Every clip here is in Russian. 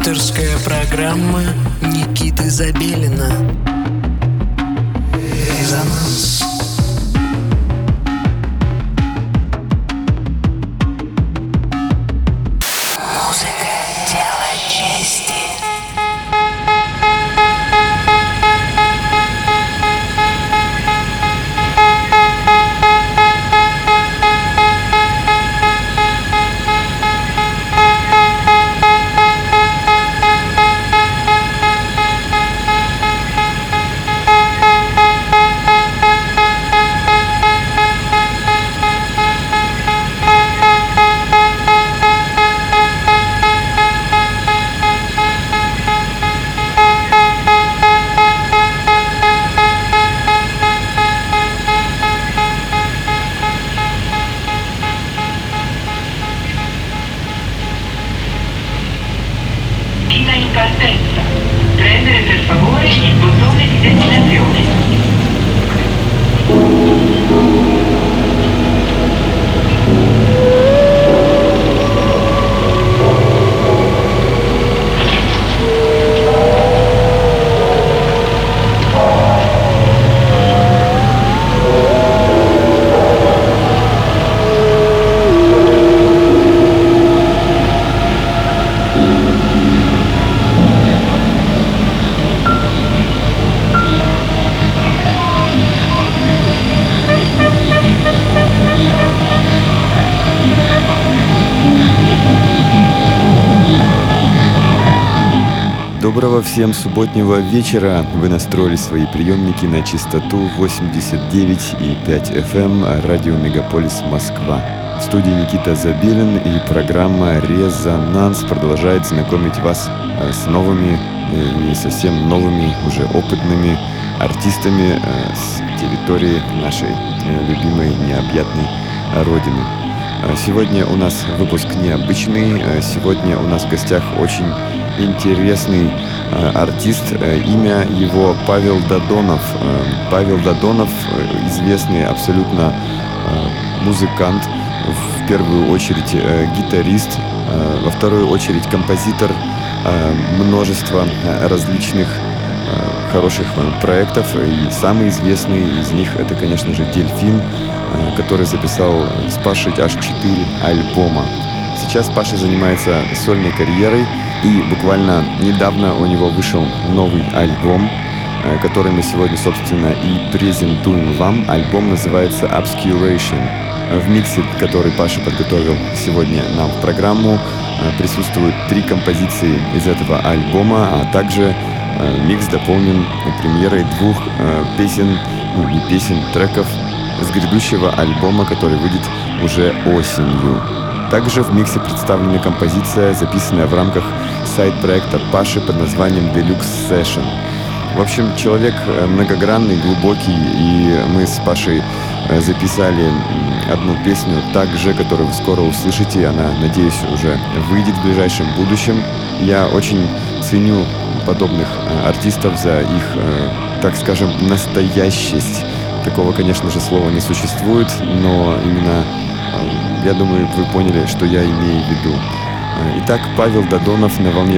Авторская программа Никиты Забелина. Резонанс. Музыка — дело чести. In partenza. Prendere per favore il bottone di destinazione. Доброго всем субботнего вечера. Вы настроили свои приемники на частоту 89,5 FM радио Мегаполис Москва. В студии Никита Забелин, и программа «Резонанс» продолжает знакомить вас с новыми, не совсем новыми, уже опытными артистами с территории нашей любимой необъятной родины. Сегодня у нас выпуск необычный. Сегодня у нас в гостях очень интересный артист. Имя его Павел Додонов. Павел Додонов — известный абсолютно музыкант, в первую очередь гитарист, во вторую очередь композитор множества различных хороших проектов. И самый известный из них — это, конечно же, «Дельфин», который записал с Пашей аж 4 альбома. Сейчас Паша занимается сольной карьерой, и буквально недавно у него вышел новый альбом, который мы сегодня, собственно, и презентуем вам. Альбом называется «Obscuration». В миксе, который Паша подготовил сегодня нам в программу, присутствуют 3 композиции из этого альбома, а также микс дополнен премьерой 2 песен, не песен, треков с грядущего альбома, который выйдет уже осенью. Также в миксе представлена композиция, записанная в рамках сайт-проекта Паши под названием Deluxe Session. В общем, человек многогранный, глубокий, и мы с Пашей записали одну песню также, которую вы скоро услышите. Она, надеюсь, уже выйдет в ближайшем будущем. Я очень ценю подобных артистов за их, так скажем, настоящесть. Такого, конечно же, слова не существует, но именно, я думаю, вы поняли, что я имею в виду. Итак, Павел Додонов на волне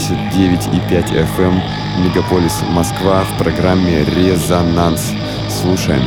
89,5 FM Мегаполис Москва в программе «Резонанс». Слушаем.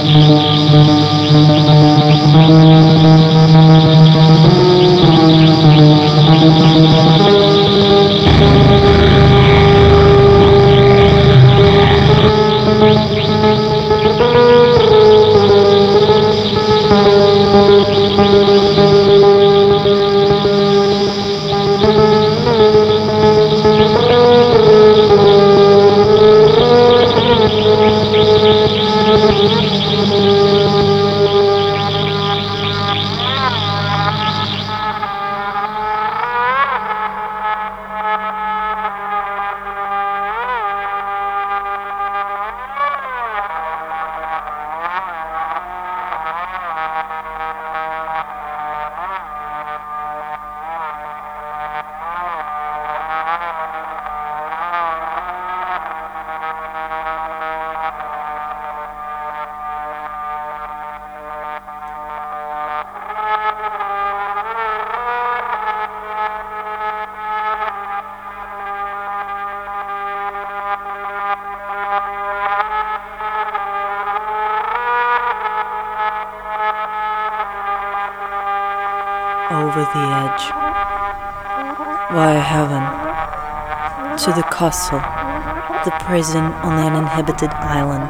Over the edge, via heaven, to the castle, the prison on an uninhabited island.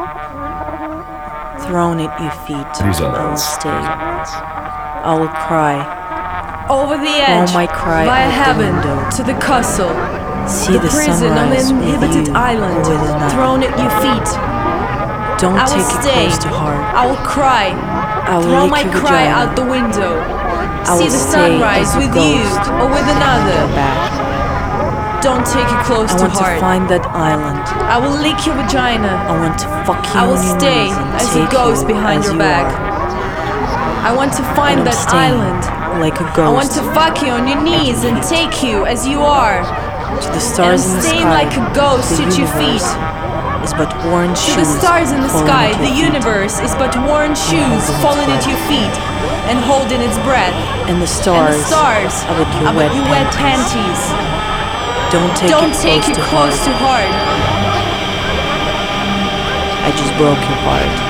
Thrown at your feet, I will stay. I will cry. Over the edge, my cry via out heaven, the window. to the castle, See the prison on sunrise an with uninhabited you island. or with another. Thrown at your feet, Don't I will take it stay. close to heart. I will cry. I will Throw lick my your cry vagina. out the window. I See will the stay sunrise as a with you ghost or with behind another. your back. Don't take it close I to want heart. to find that island. I will lick your vagina. I want to fuck you I will on your stay knees and as take a ghost you behind as your you back. are. I want to find And I'm that staying island. like a ghost. I want to fuck you on your knees and take you as you are. to the And stars in the staying sky. like a ghost the at your universe feet. is but worn To shoes. the stars in the falling sky, at your the feet. universe is but worn shoes its falling at breath. your feet and holding its breath. And the And stars, the stars are but your are wet but your wet panties. panties. Don't take Don't it take close it to close heart. to heart. I just broke your heart.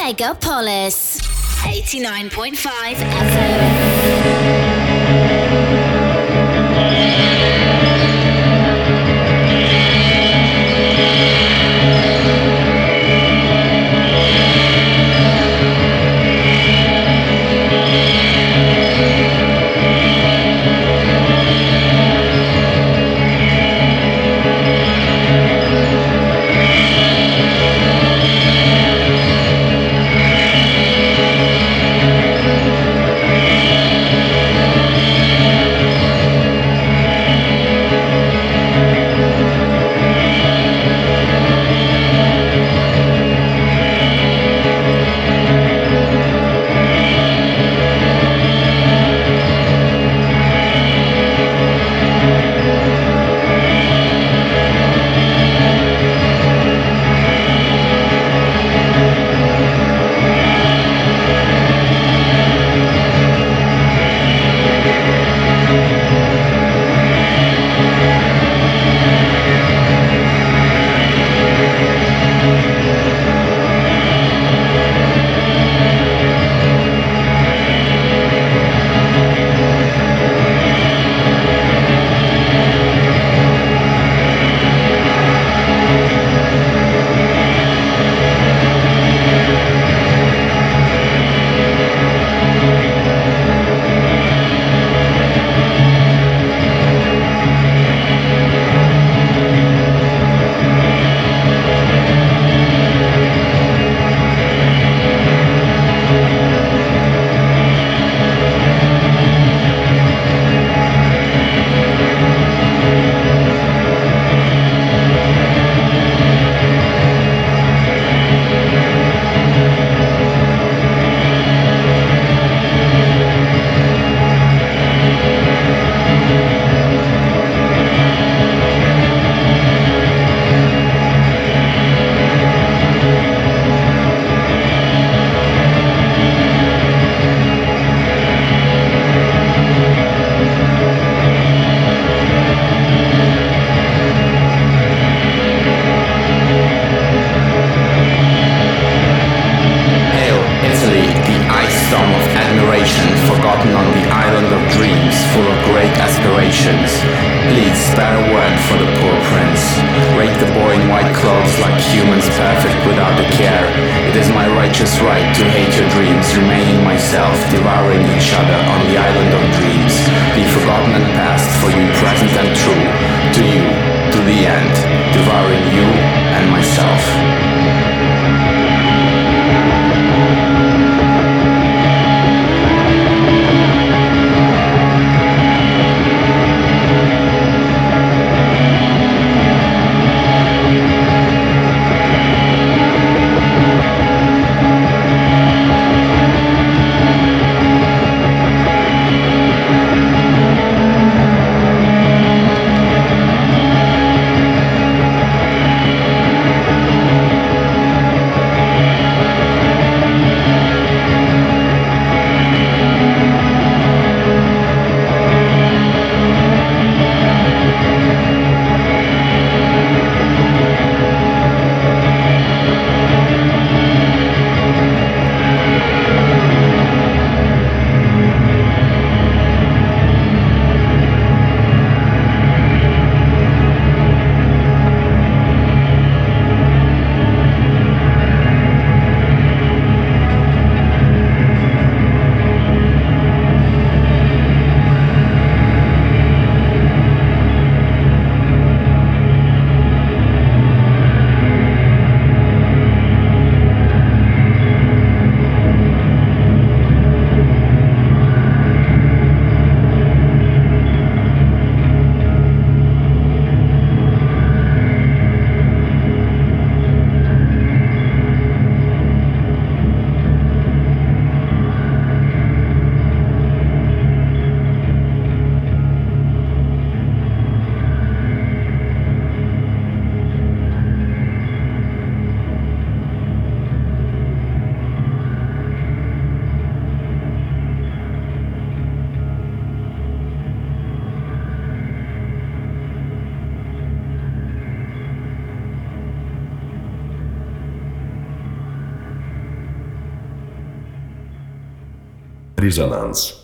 Megapolis 89.5 FM. Резонанс.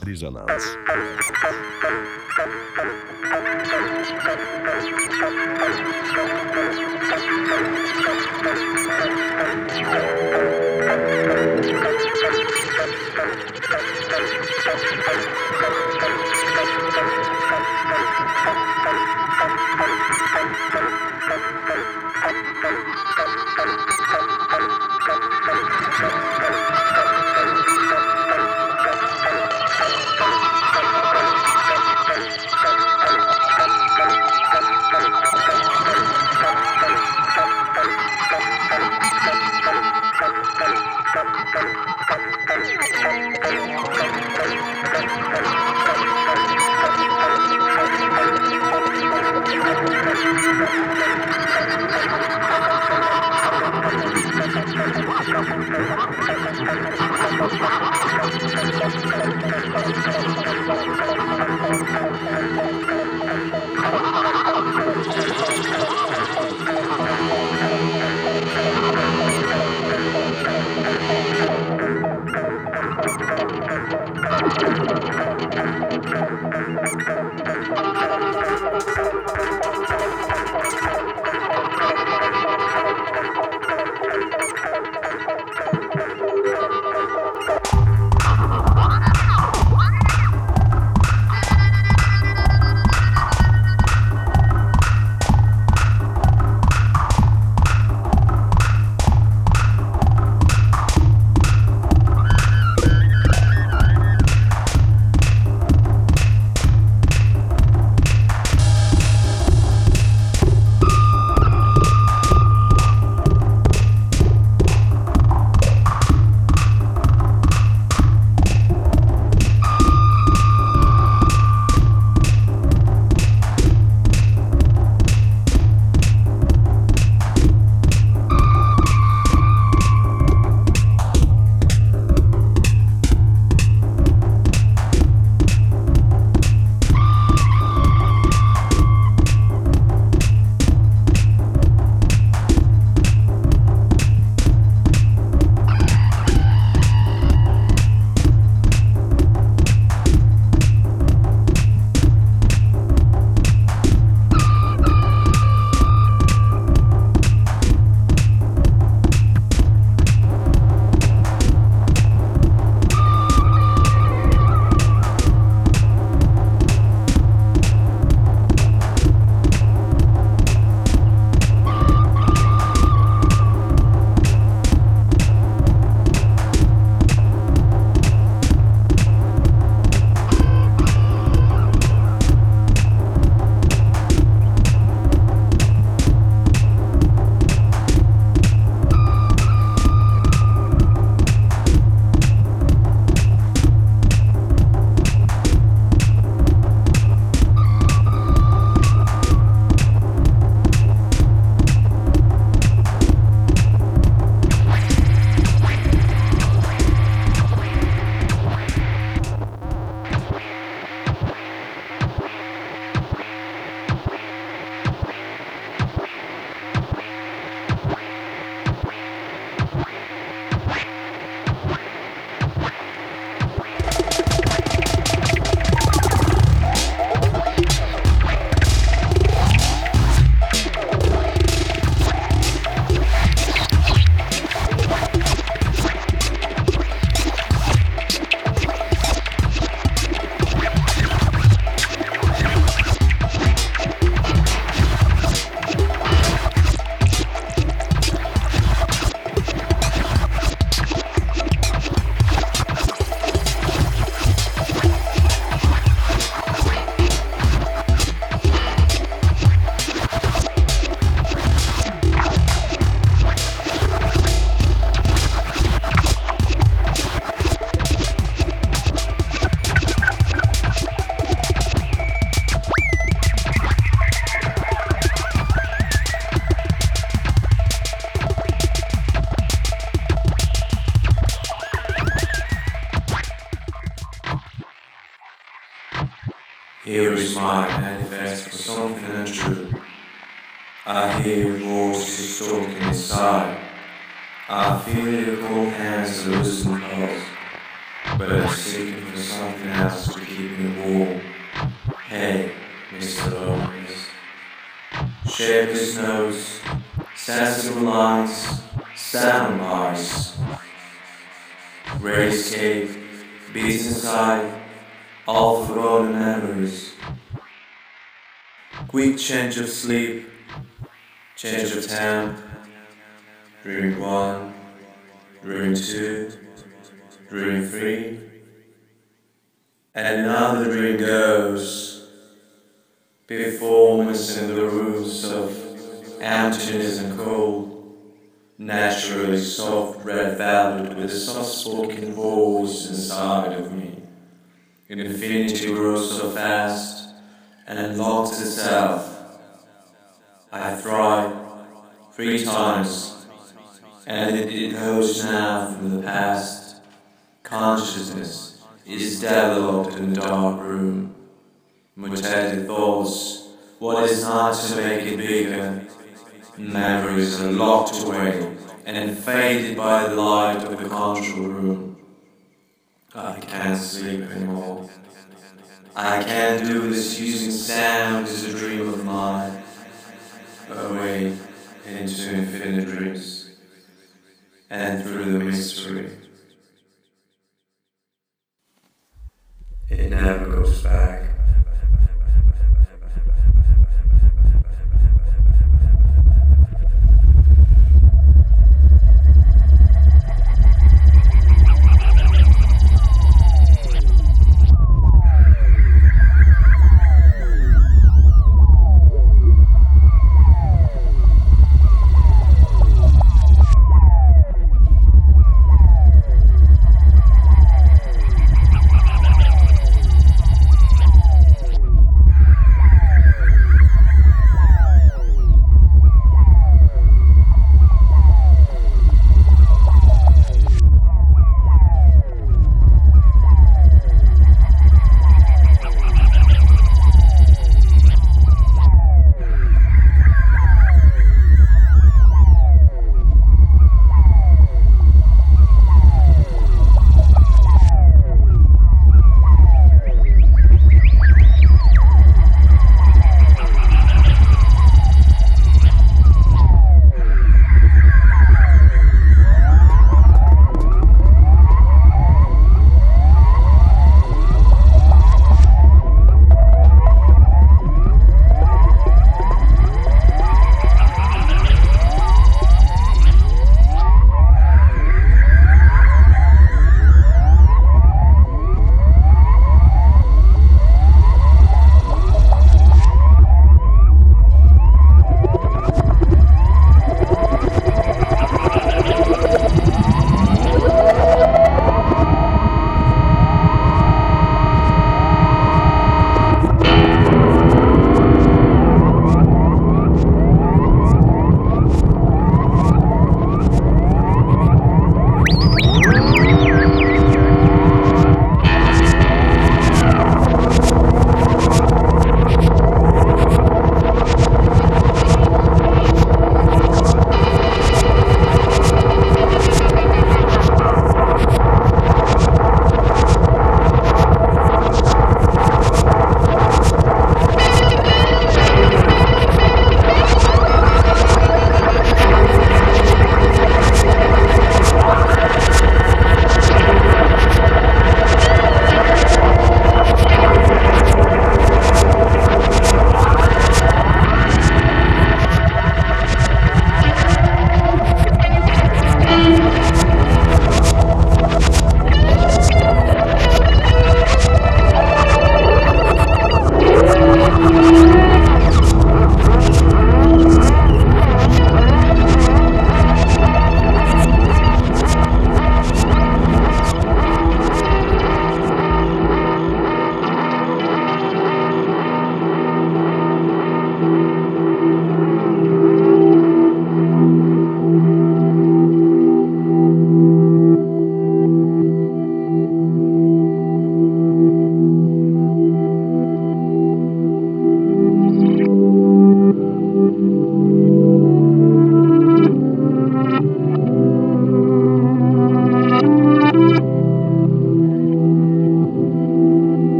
Here is my manifest for something untrue. I hear your voices talking inside. I feel your cold hands loosen close. but I'm seeking for something else to keep me warm. Hey, Mr. Lopez. Shapeless nose, sensible lines, sound eyes. Raised cave, beats inside, all forgotten memories. Quick change of sleep, change of temp. Drink 1, drink 2, drink 3. And another drink goes. Performance in the rooms of emptiness and cold. Naturally soft red velvet with a soft-spoken voice inside of me. Infinity grows so fast and locks itself. I tried 3 times, and it goes now from the past. Consciousness is developed in the dark room. Mutated thoughts, what is not to make it bigger? Memories are locked away and faded by the light of the control room. I can't sleep anymore. I can't do this using sound as a dream of mine. Away into infinite dreams and through the mystery. It never goes back.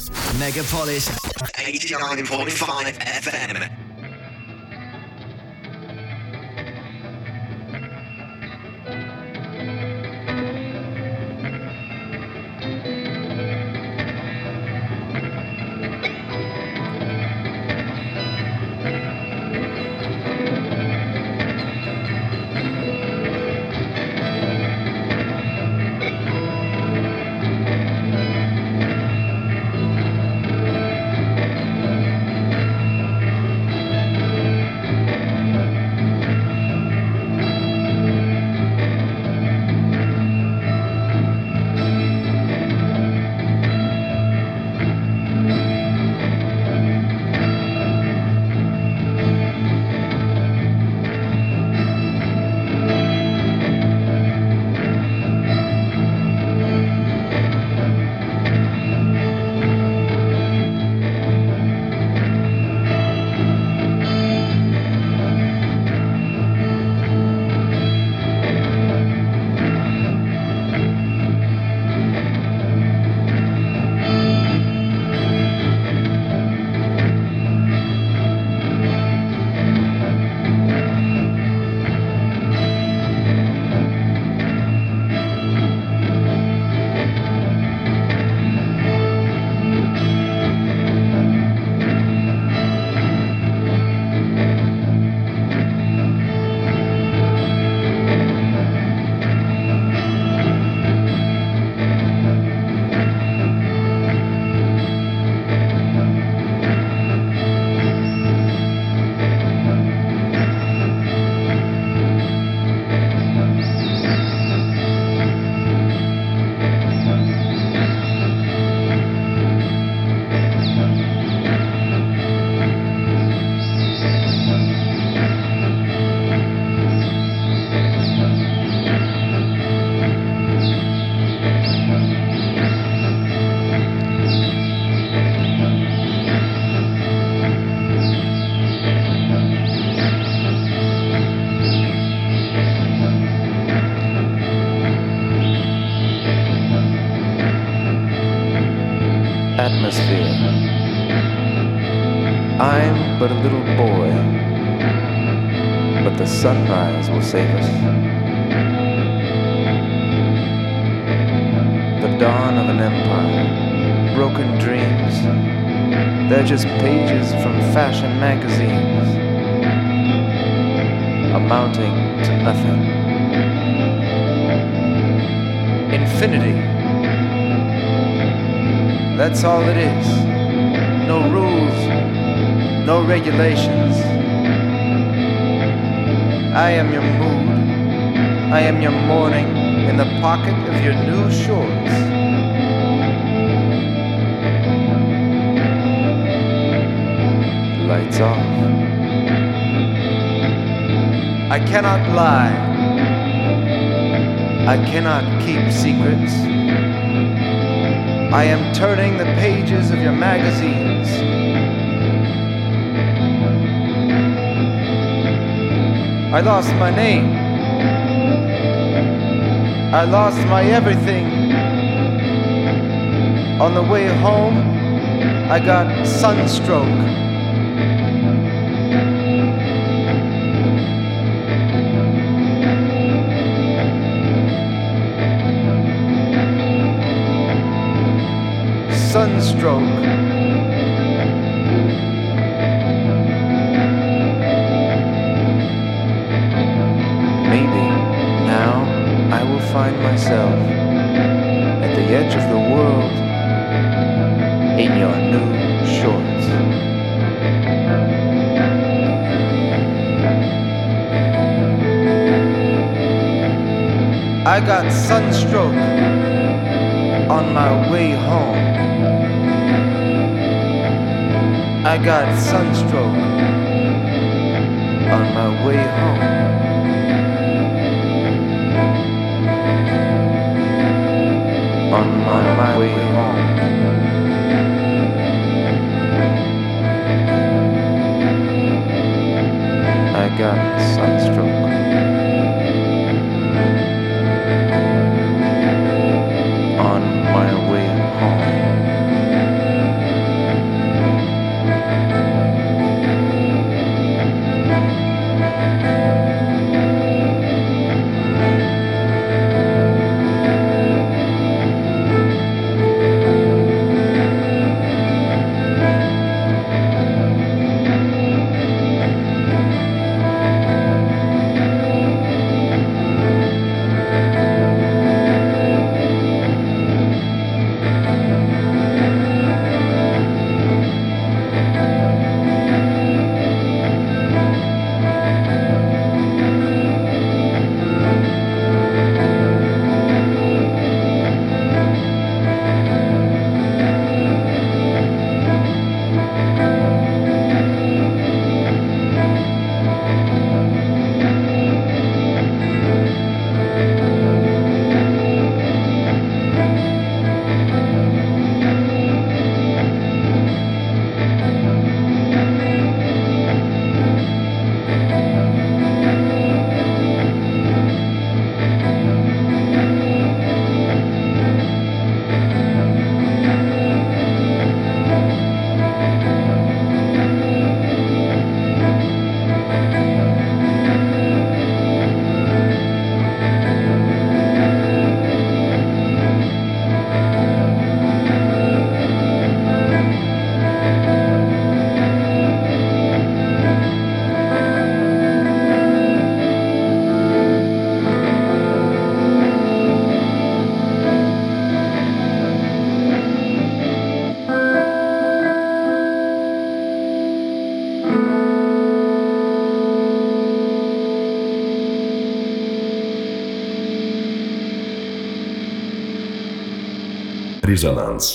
Megapolis 89.5 FM. Atmosphere. I'm but a little boy, but the sunrise will save us. The dawn of an empire, broken dreams, they're just pages from fashion magazines, amounting to nothing. Infinity. That's all it is. No rules, no regulations. I am your mood. I am your morning in the pocket of your new shorts. Lights off. I cannot lie. I cannot keep secrets. I am turning the pages of your magazines. I lost my name. I lost my everything. On the way home, I got sunstroke. Sunstroke. Maybe now I will find myself at the edge of the world in your new shorts. I got sunstroke on my way home. I got sunstroke on my way home. On my way home. I got sunstroke. On my way home. Резонанс.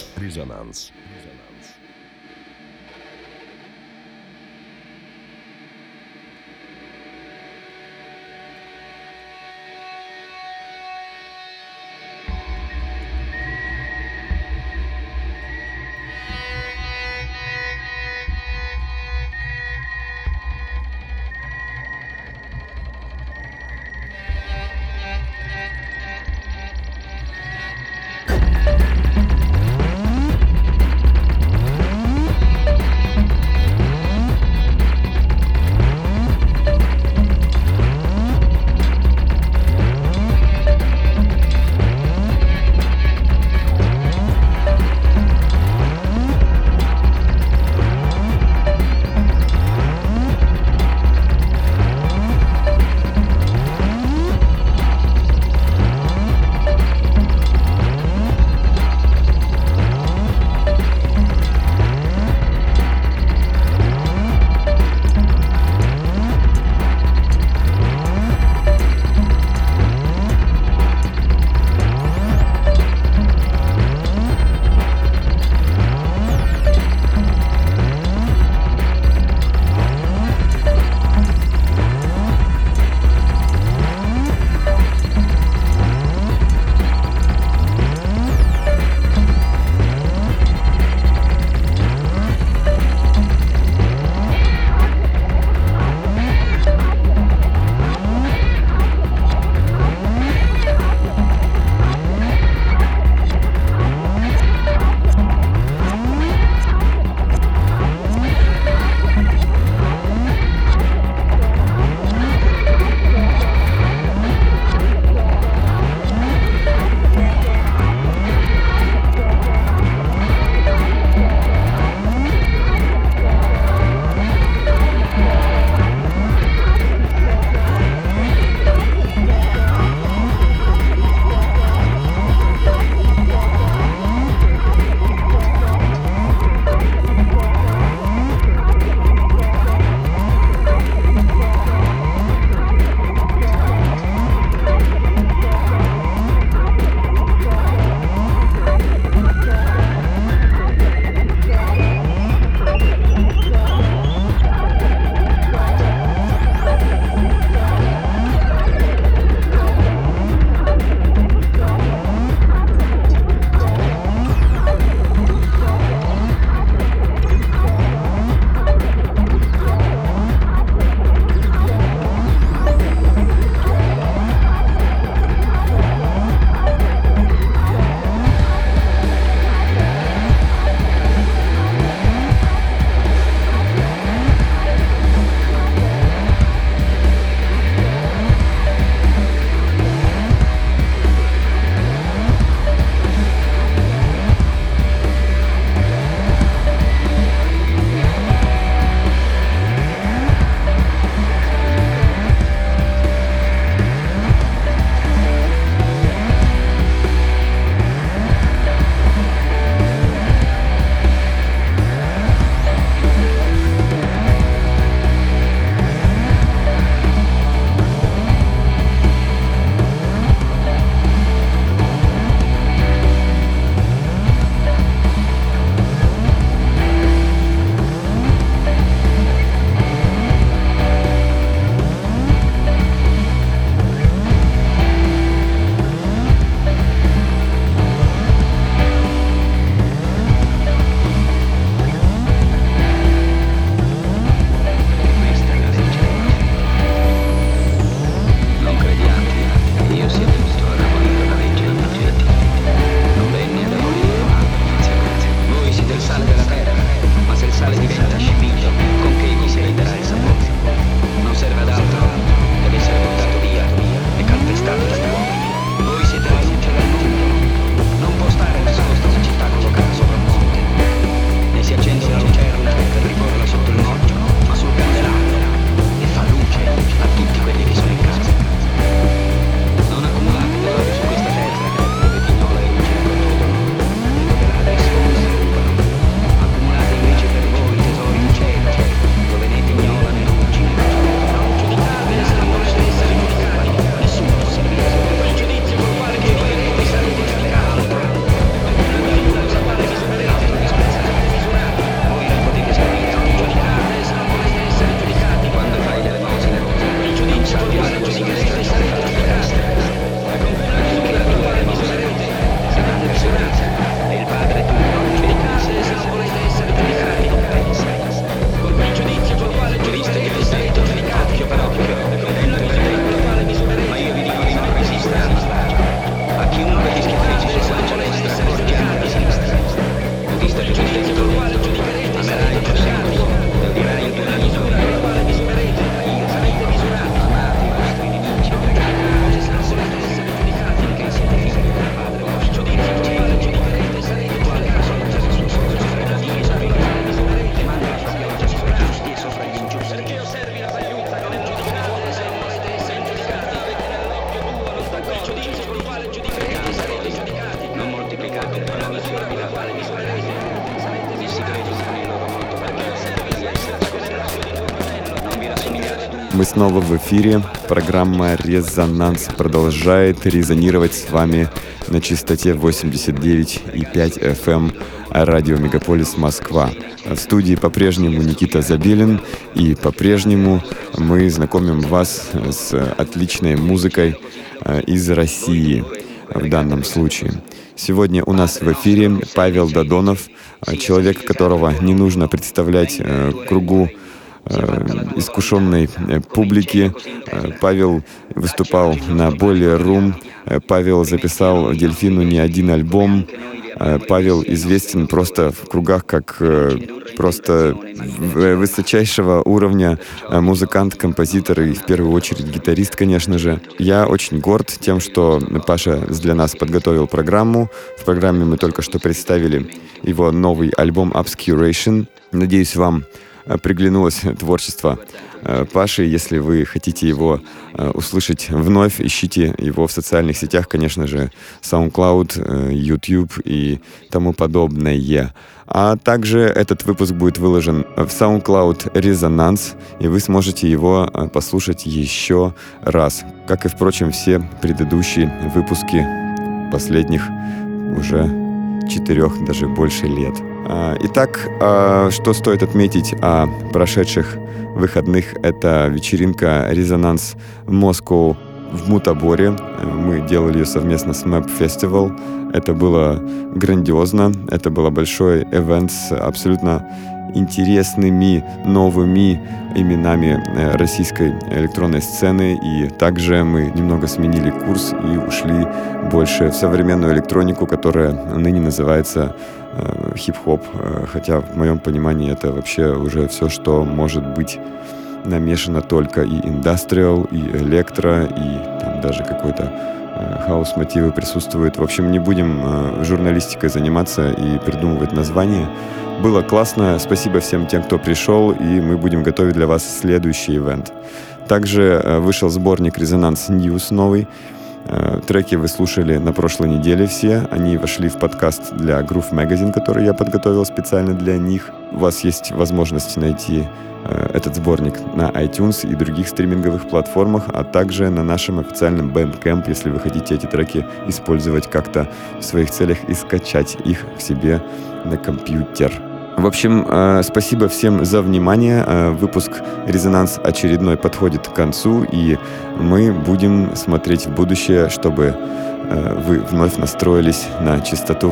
Мы снова в эфире. Программа «Резонанс» продолжает резонировать с вами на частоте 89,5 FM радио «Мегаполис Москва». В студии по-прежнему Никита Забелин, и по-прежнему мы знакомим вас с отличной музыкой из России в данном случае. Сегодня у нас в эфире Павел Додонов, человек, которого не нужно представлять кругу искушенной публики. Павел выступал на Boiler Room, Павел записал Дельфину не один альбом. Павел известен просто в кругах как просто высочайшего уровня музыкант, композитор и в первую очередь гитарист, конечно же. Я очень горд тем, что Паша для нас подготовил программу. В программе мы только что представили его новый альбом Obscuration. Надеюсь, вам приглянулось творчество Паши. Если вы хотите его услышать вновь, ищите его в социальных сетях, конечно же, SoundCloud, YouTube и тому подобное. А также этот выпуск будет выложен в SoundCloud Резонанс, и вы сможете его послушать еще раз, как и, впрочем, все предыдущие выпуски последних уже 4, даже больше лет. Итак, что стоит отметить о прошедших выходных? Это вечеринка «Резонанс Moscow» в Мутаборе. Мы делали ее совместно с Map Festival. Это было грандиозно. Это был большой ивент с абсолютно интересными новыми именами российской электронной сцены. И также мы немного сменили курс и ушли больше в современную электронику, которая ныне называется хип-хоп, хотя в моем понимании это вообще уже все, что может быть намешано только и индастриал, и электро, и там даже какой-то хаус-мотивы присутствуют. В общем, не будем журналистикой заниматься и придумывать названия. Было классно, спасибо всем тем, кто пришел, и мы будем готовить для вас следующий ивент. Также вышел сборник «Резонанс News» новый. Треки вы слушали на прошлой неделе все. Они вошли в подкаст для Groove Magazine, который я подготовил специально для них. У вас есть возможность найти этот сборник на iTunes и других стриминговых платформах, а также на нашем официальном Bandcamp, если вы хотите эти треки использовать как-то в своих целях и скачать их к себе на компьютер. В общем, спасибо всем за внимание. Выпуск «Резонанс» очередной подходит к концу, и мы будем смотреть в будущее, чтобы вы вновь настроились на частоту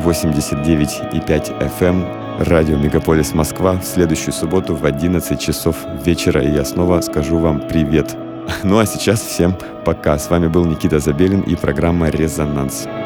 89,5 FM радио «Мегаполис Москва» в следующую субботу в 11 часов вечера, и я снова скажу вам привет. Ну а сейчас всем пока. С вами был Никита Забелин и программа «Резонанс».